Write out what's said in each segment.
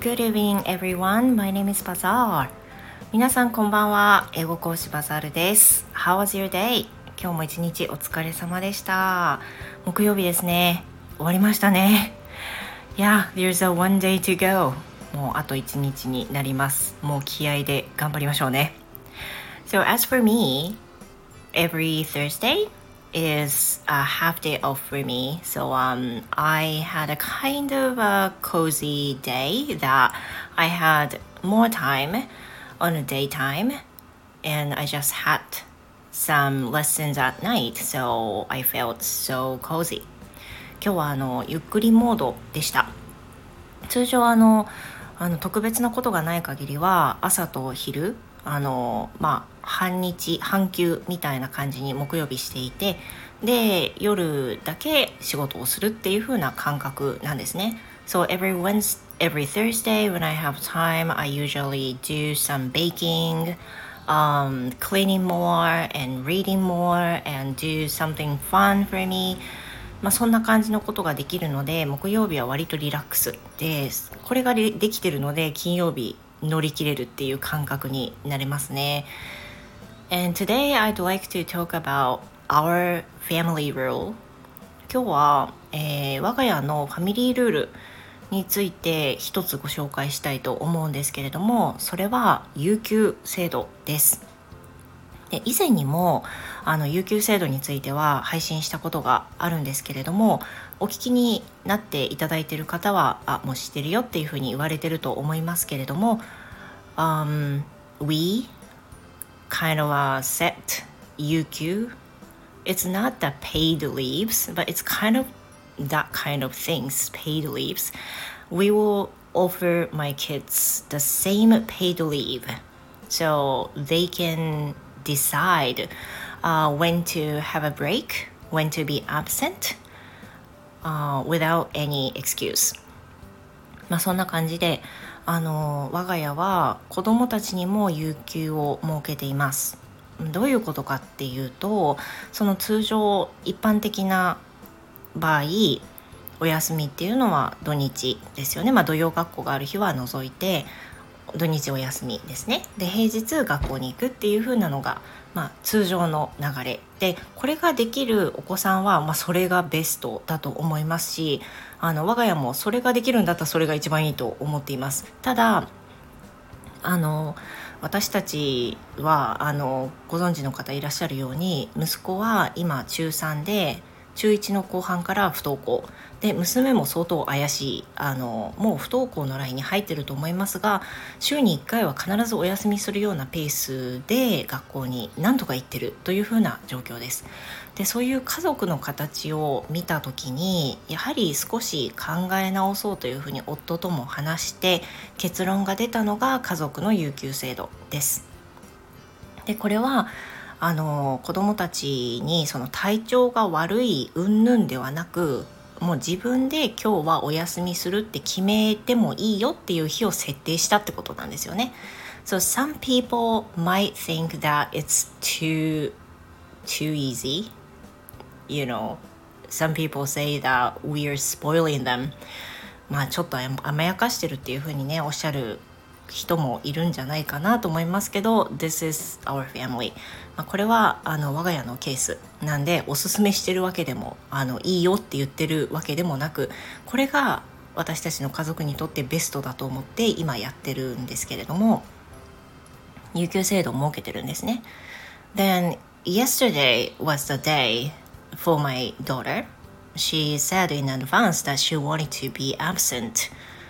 Good evening, everyone. My name is Bazaar. 皆さんこんばんは。英語講師バザールです。How was your day? 今日も一日お疲れ様でした。木曜日ですね。終わりましたね。Yeah, there's a one day to go. もうあと一日になります。もう気合で頑張りましょうね。So as for me, every Thursday is a half day off for me. So I had a kind of a cozy day that I had more time on a daytime and I just had some lessons at night. So I felt so cozy. 今日はゆっくりモードでした。通常特別なことがない限りは朝と昼半休みたいな感じに木曜日していて、で夜だけ仕事をするっていう風な感覚なんですね。So every Thursday when I have time, I usually do some baking, cleaning more and reading more and do something fun for me.そんな感じのことができるので、木曜日は割とリラックスです。これができてるので、金曜日乗り切れるっていう感覚になれますね。And today I'd like to talk about our family rule. 今日は、我が家のファミリールールについて一つご紹介したいと思うんですけれども、それは有給制度です。で以前にも有給制度については配信したことがあるんですけれども、お聞きになっていただいている方はもう知ってるよっていうふうに言われてると思いますけれども、We kind of set 有給 It's not the paid leaves, but it's kind of that kind of things, paid leaves. We will offer my kids the same paid leave so they can decide when to have a break, when to be absent, without any excuse. そんな感じで我が家は子どもたちにも有給を設けています。どういうことかっていうと、その通常一般的な場合お休みっていうのは土日ですよね。土曜学校がある日は除いて土日お休みですね。で平日学校に行くっていう風なのが、通常の流れで、これができるお子さんは、それがベストだと思いますし、我が家もそれができるんだったらそれが一番いいと思っています。ただ私たちはご存知の方いらっしゃるように、息子は今中3で中1の後半から不登校で、娘も相当怪しいもう不登校のラインに入ってると思いますが、週に1回は必ずお休みするようなペースで学校に何とか行ってるというふうな状況です。でそういう家族の形を見た時に、やはり少し考え直そうというふうに夫とも話して結論が出たのが家族の有給制度です。でこれは子どもたちにその体調が悪い云々ではなく、もう自分で今日はお休みするって決めてもいいよっていう日を設定したってことなんですよね。So some people might think that it's too easy. You know, some people say that we are spoiling them. ちょっと甘やかしてるっていうふうにねおっしゃる人もいるんじゃないかなと思いますけど、 This is our family。これは我が家のケースなんで、おすすめしてるわけでもいいよって言ってるわけでもなく、これが私たちの家族にとってベストだと思って今やってるんですけれども、有給制度を設けてるんですね。Then yesterday was the day for my daughter. She said in advance that she wanted to be absent,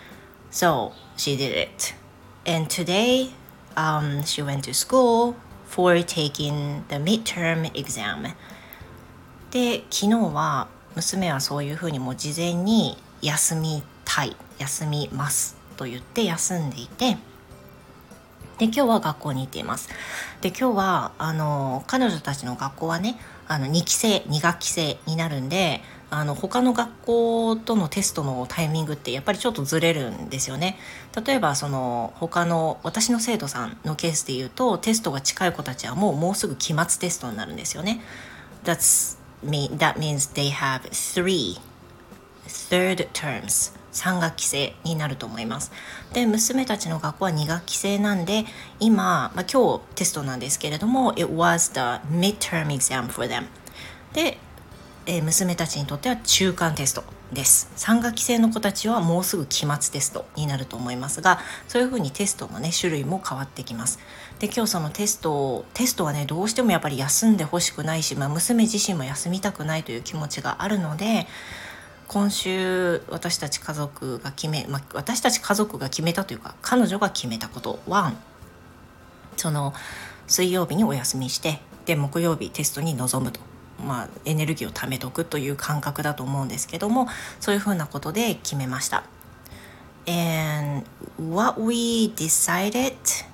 so she did it.And today, she went to school for taking the midterm exam. で、昨日は娘はそういうふうにもう事前に休みますと言って休んでいて、で今日は学校に行っています。で今日は彼女たちの学校はね2学期制になるんで、他の学校とのテストのタイミングってやっぱりちょっとずれるんですよね。例えば他の私の生徒さんのケースで言うと、テストが近い子たちはもうすぐ期末テストになるんですよね。That means they have third terms 3学期制になると思います。で、娘たちの学校は2学期制なんで、今、今日テストなんですけれども、It was the midterm exam for them。で、娘たちにとっては中間テストです。3学期制の子たちはもうすぐ期末テストになると思いますが、そういう風にテストのね種類も変わってきます。で、今日そのテストはね、どうしてもやっぱり休んでほしくないし、娘自身も休みたくないという気持ちがあるので、今週私たち家族が決めたというか、彼女が決めたことは、その水曜日にお休みして、で木曜日テストに臨むと、エネルギーを貯めとくという感覚だと思うんですけども、そういうふうなことで決めました。 And what we decided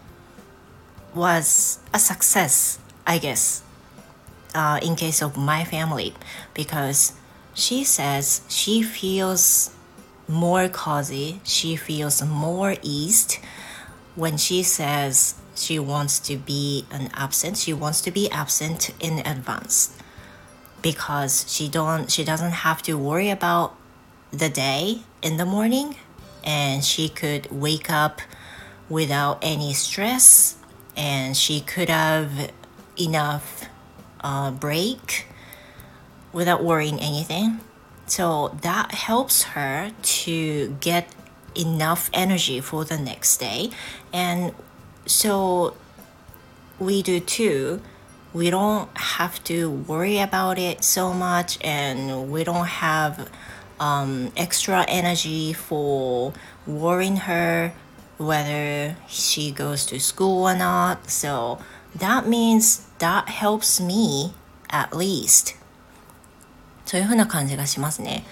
was a success, I guess, in case of my family, because she says she feels more cozy, she feels more eased when she says she wants to be absent in advance, because she doesn't have to worry about the day in the morning, and she could wake up without any stress, and she could have enough break without worrying anything. So that helps her to get enough energy for the next day. And so we do too. We don't have to worry about it so much, and we don't have extra energy for worrying her whether she goes to school or not. So that means that helps me at least. そういう風な感じがしますね。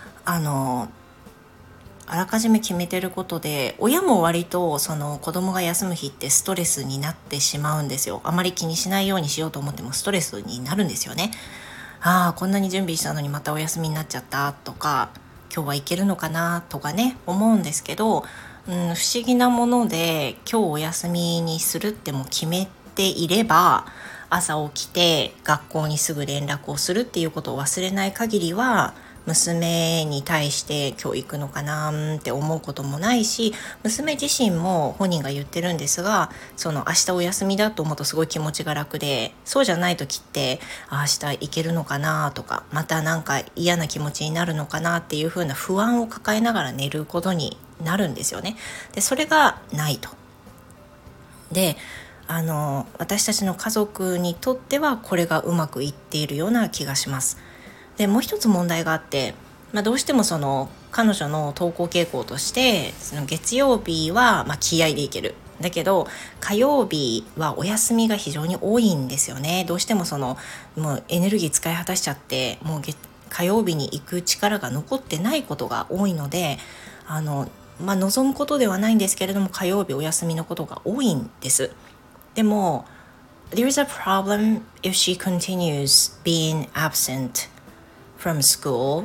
あらかじめ決めてることで、親も割とその子供が休む日ってストレスになってしまうんですよ。あまり気にしないようにしようと思ってもストレスになるんですよね。こんなに準備したのにまたお休みになっちゃったとか、今日は行けるのかなとかね、思うんですけど、不思議なもので、今日お休みにするっても決めていれば、朝起きて学校にすぐ連絡をするっていうことを忘れない限りは、娘に対して今日行くのかなって思うこともないし、娘自身も本人が言ってるんですが、その明日お休みだと思うとすごい気持ちが楽で、そうじゃない時って明日行けるのかなとか、またなんか嫌な気持ちになるのかなっていう風な不安を抱えながら寝ることになるんですよね。で、それがないと。で、私たちの家族にとってはこれがうまくいっているような気がします。で、もう一つ問題があって、どうしてもその彼女の登校傾向として、その月曜日は気合でいける、だけど火曜日はお休みが非常に多いんですよね。どうしてもそのもうエネルギー使い果たしちゃって、もう火曜日に行く力が残ってないことが多いので、望むことではないんですけれども、火曜日お休みのことが多いんです。でも There is a problem if she continues being absent from school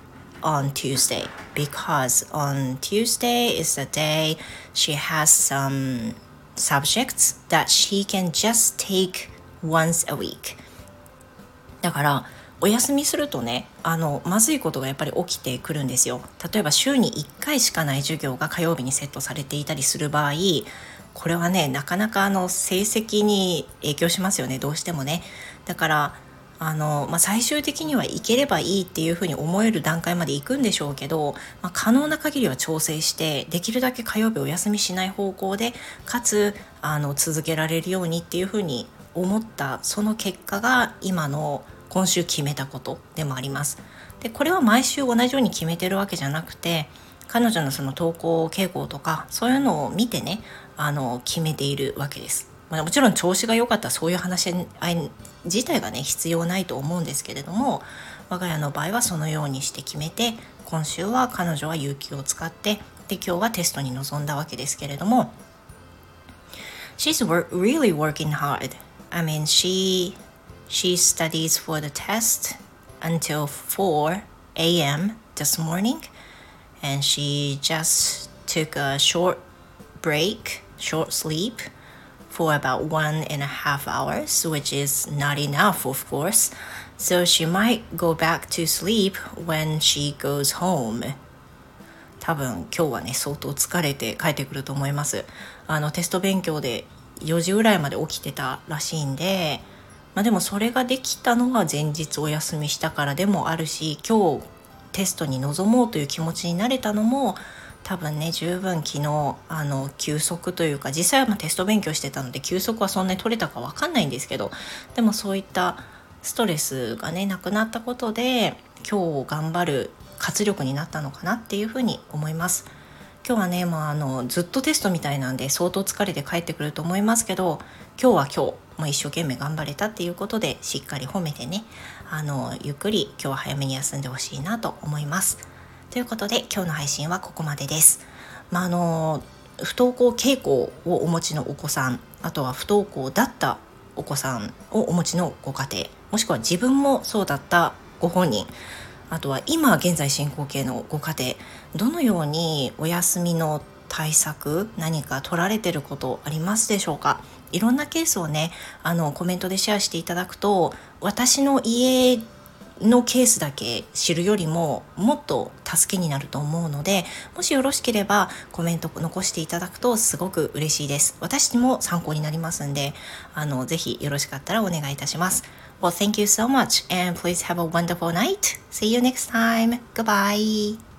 on Tuesday, because on Tuesday is the day she has some subjects that she can just take once a week. だからお休みするとね、まずいことがやっぱり起きてくるんですよ。例えば週に1回しかない授業が火曜日にセットされていたりする場合、これはね、なかなか成績に影響しますよね、どうしてもね。だから最終的には行ければいいっていうふうに思える段階まで行くんでしょうけど、可能な限りは調整して、できるだけ火曜日お休みしない方向で、かつ続けられるようにっていうふうに思った、その結果が今週決めたことでもあります。で、これは毎週同じように決めてるわけじゃなくて、彼女のその登校傾向とかそういうのを見てね、決めているわけです。もちろん調子が良かったらそういう話し合い自体がね必要ないと思うんですけれども、我が家の場合はそのようにして決めて、今週は彼女は有給を使って、で今日はテストに臨んだわけですけれども、 She's really working hard. I mean, she studies for the test until 4 a.m. this morning, and she just took a short sleep for about 1.5 hours, which is not enough, of course. So she might go back to sleep when she goes home. 多分今日はね相当疲れて帰ってくると思います。テスト勉強で4時ぐらいまで起きてたらしいんで、でもそれができたのは前日お休みしたからでもあるし、今日テストに臨もうという気持ちになれたのも多分ね、十分昨日休息というか、実際はテスト勉強してたので休息はそんなに取れたか分かんないんですけど、でもそういったストレスがねなくなったことで今日頑張る活力になったのかなっていうふうに思います。今日はね、ずっとテストみたいなんで相当疲れて帰ってくると思いますけど、今日は今日もう一生懸命頑張れたっていうことでしっかり褒めてね、ゆっくり今日は早めに休んでほしいなと思います。ということで今日の配信はここまでです。不登校傾向をお持ちのお子さん、あとは不登校だったお子さんをお持ちのご家庭、もしくは自分もそうだったご本人、あとは今現在進行形のご家庭、どのようにお休みの対策何か取られてることありますでしょうか。いろんなケースをねコメントでシェアしていただくと、私の家のケースだけ知るよりももっと助けになると思うので、もしよろしければコメント残していただくとすごく嬉しいです。私も参考になりますんで、ぜひよろしかったらお願いいたします。Well, thank you so much and please have a wonderful night. See you next time. Goodbye.